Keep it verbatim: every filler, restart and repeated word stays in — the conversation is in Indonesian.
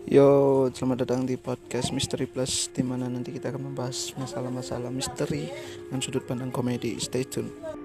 Yo, selamat datang di podcast Misteri Plus, di mana nanti kita akan membahas masalah-masalah misteri dan sudut pandang komedi. Stay tune.